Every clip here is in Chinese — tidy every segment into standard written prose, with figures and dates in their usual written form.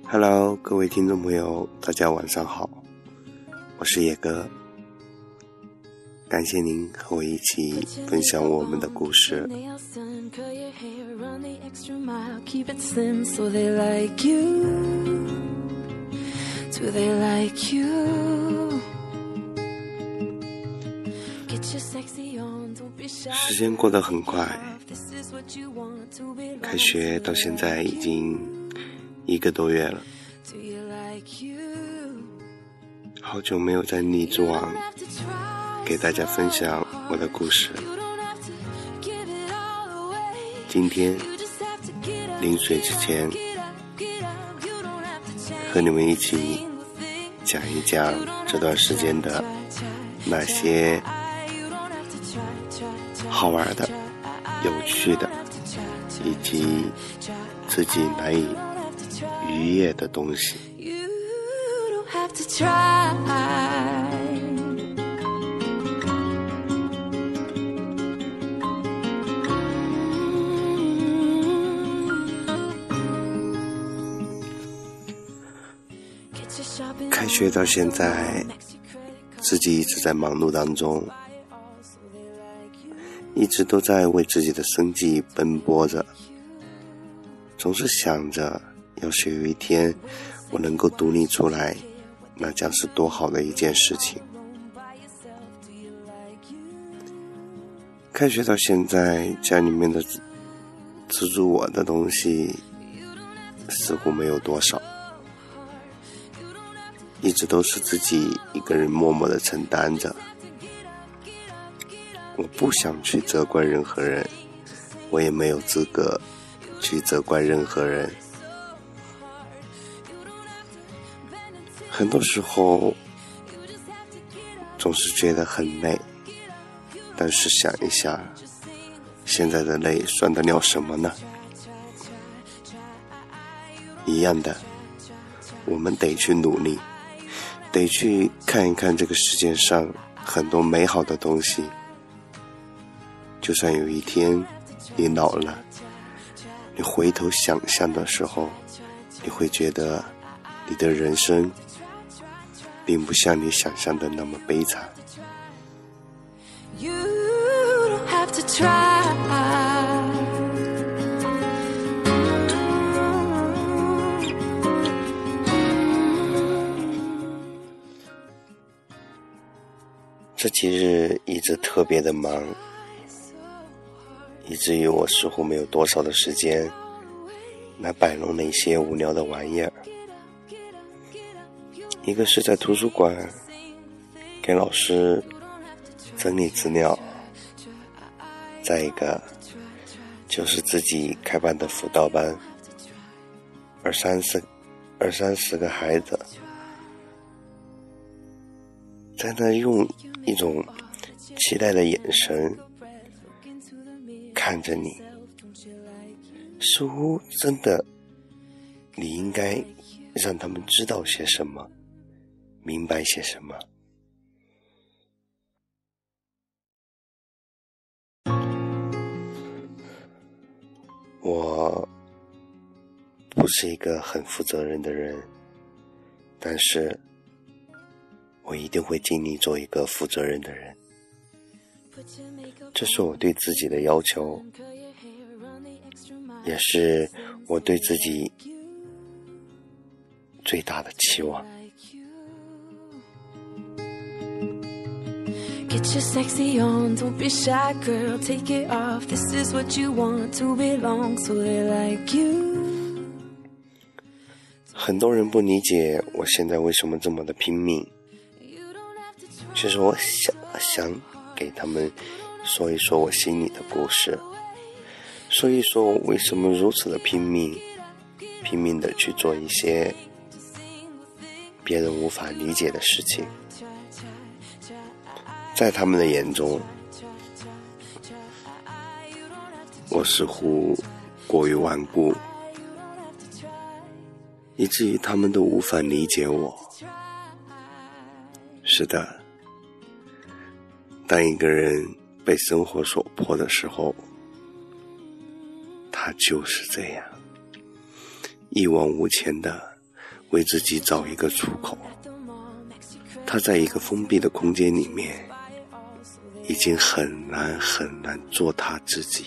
Hello， 各位听众朋友，大家晚上好，我是野哥，感谢您和我一起分享我们的故事。时间过得很快，开学到现在已经1个多月了，好久没有在荔枝网给大家分享我的故事。今天临睡之前，和你们一起讲一讲这段时间的那些好玩的、有趣的，以及自己难以逾越的东西。开学到现在，自己一直在忙碌当中，一直都在为自己的生计奔波着，总是想着要是有一天我能够独立出来，那将是多好的一件事情。开学到现在，家里面的资助我的东西似乎没有多少，一直都是自己一个人默默地承担着。我不想去责怪任何人，我也没有资格去责怪任何人。很多时候总是觉得很累，但是想一下，现在的累算得了什么呢？一样的，我们得去努力，得去看一看这个世界上很多美好的东西。就算有一天你老了，你回头想象的时候，你会觉得你的人生并不像你想象的那么悲惨。You don't have to try. 这几日一直特别的忙，以至于我似乎没有多少的时间来摆弄那些无聊的玩意儿。一个是在图书馆给老师整理资料，再一个就是自己开办的辅导班，二三十个孩子在那用一种期待的眼神看着你，似乎真的你应该让他们知道些什么，明白些什么。我不是一个很负责任的人，但是我一定会尽力做一个负责任的人，这是我对自己的要求，也是我对自己最大的期望。Get your sexy on, don't be shy girl, take it off. This is what you want to belong, so they like you. 很多人不理解我现在为什么这么的拼命，其实我想给他们说一说我心里的故事，说一说我为什么如此的拼命的去做一些别人无法理解的事情。在他们的眼中，我似乎过于顽固，以至于他们都无法理解我。是的，当一个人被生活所迫的时候，他就是这样，一往无前的为自己找一个出口。他在一个封闭的空间里面，已经很难做他自己。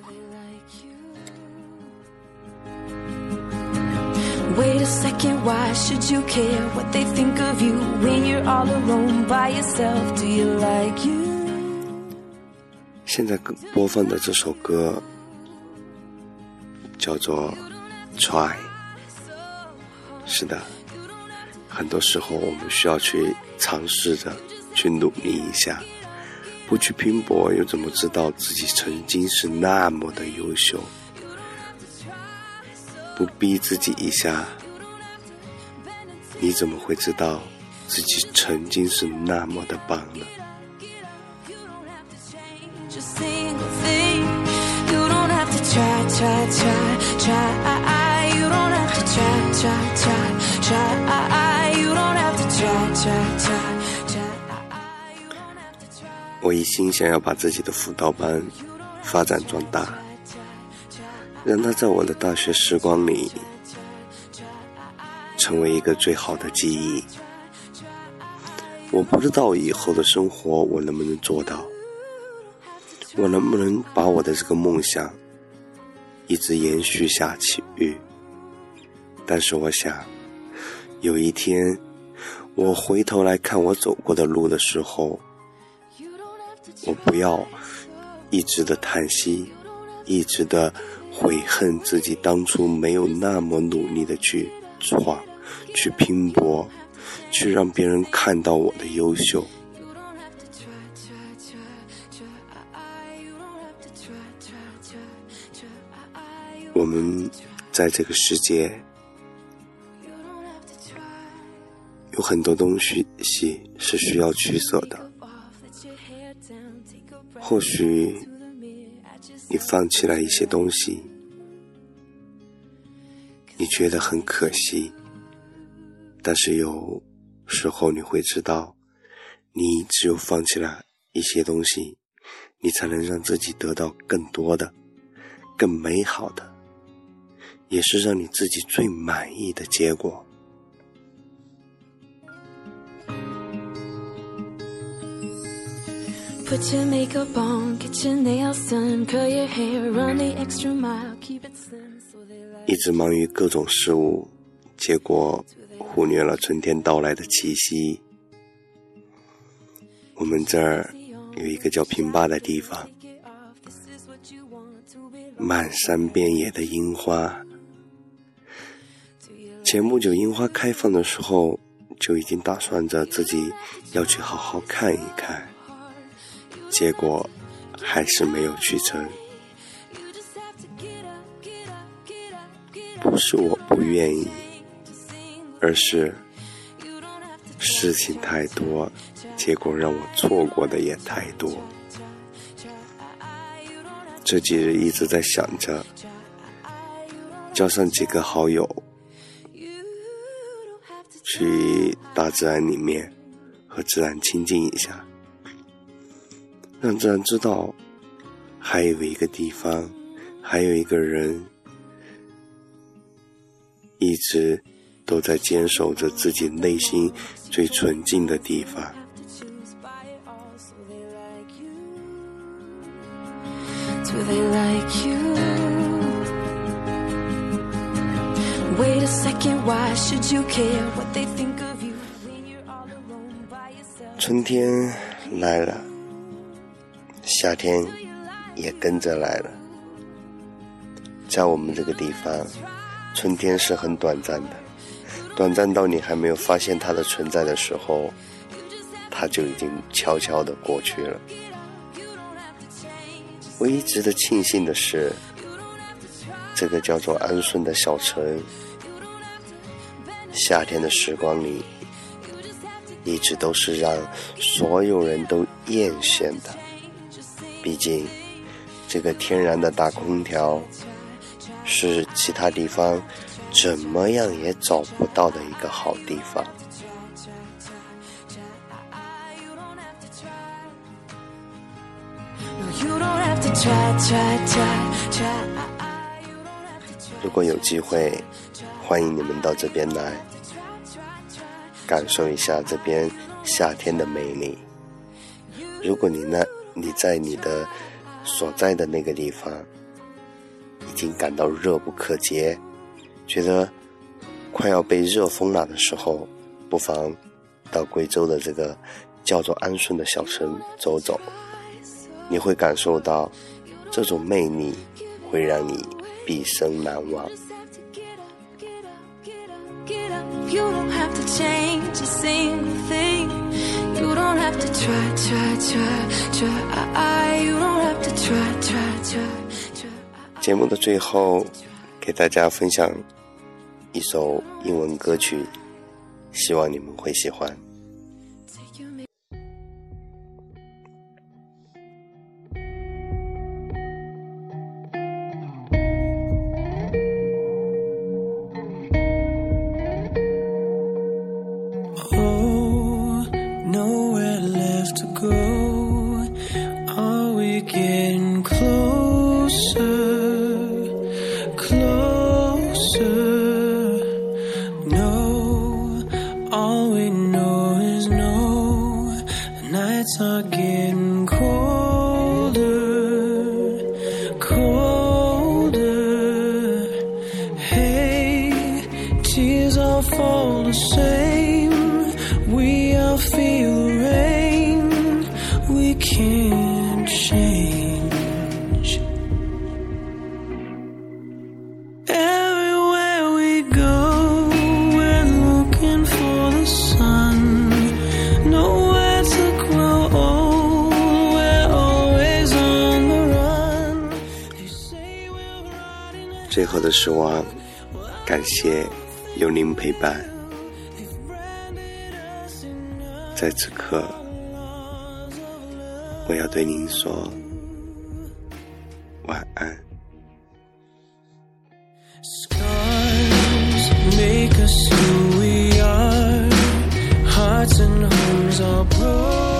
Wait a second, why should you care what they think of you when you're all alone by yourself? Do you like you? 现在播放的这首歌叫做 Try。 是的，很多时候我们需要去尝试着去努力一下，不去拼搏又怎么知道自己曾经是那么的优秀？不逼自己一下，你怎么会知道自己曾经是那么的棒呢？我一心想要把自己的辅导班发展壮大，让它在我的大学时光里成为一个最好的记忆。我不知道以后的生活我能不能做到，我能不能把我的这个梦想一直延续下去，但是我想有一天我回头来看我走过的路的时候，我不要一直的叹息，一直的悔恨自己当初没有那么努力的去闯，去拼搏，去让别人看到我的优秀。我们在这个世界有很多东西是需要取舍的，或许你放弃了一些东西，你觉得很可惜，但是有时候你会知道，你只有放弃了一些东西，你才能让自己得到更多的更美好的，也是让你自己最满意的结果。 Put your makeup on, get your nails done, curl your hair, run the extra mile, keep it slim so they like. 一直忙于各种事物，结果忽略了春天到来的气息。我们这儿有一个叫平坝的地方，漫山遍野的樱花。前不久樱花开放的时候，就已经打算着自己要去好好看一看，结果还是没有去成。不是我不愿意，而是事情太多，结果让我错过的也太多。这几日一直在想着叫上几个好友去大自然里面和自然亲近一下，让自然知道还有一个地方，还有一个人一直都在坚守着自己内心最纯净的地方。 Do they like you? Wait a second, why should you care what they think of you when you're all alone by yourself? 春天来了，夏天也跟着来了。在我们这个地方，春天是很短暂的，短暂到你还没有发现它的存在的时候，它就已经悄悄地过去了。唯一值得庆幸的是，这个叫做安顺的小城，夏天的时光里一直都是让所有人都艳羡的。毕竟这个天然的大空调是其他地方怎么样也找不到的一个好地方。如果有机会，欢迎你们到这边来， 感受一下这边夏天的美丽。如果你在你的所在的那个地方已经感到热不可遏，觉得快要被热疯了的时候，不妨到贵州的这个叫做安顺的小城走走，你会感受到这种魅力，会让你毕生难忘。 You don't have to change a single thing. You don't have to try. You don't have to try. 节目的最后，给大家分享一首英文歌曲，希望你们会喜欢。 Are getting colder, colder. Hey, tears all fall the same. We all feel the rain. We can't change. Everywhere we go, we're looking for the sun. Nowhere to grow old, we're always on the run. They say we're riding. 最后的时光，感谢有您陪伴。在此刻，我要对您说晚安。 Scars make us who we are. Hearts and homes are broken.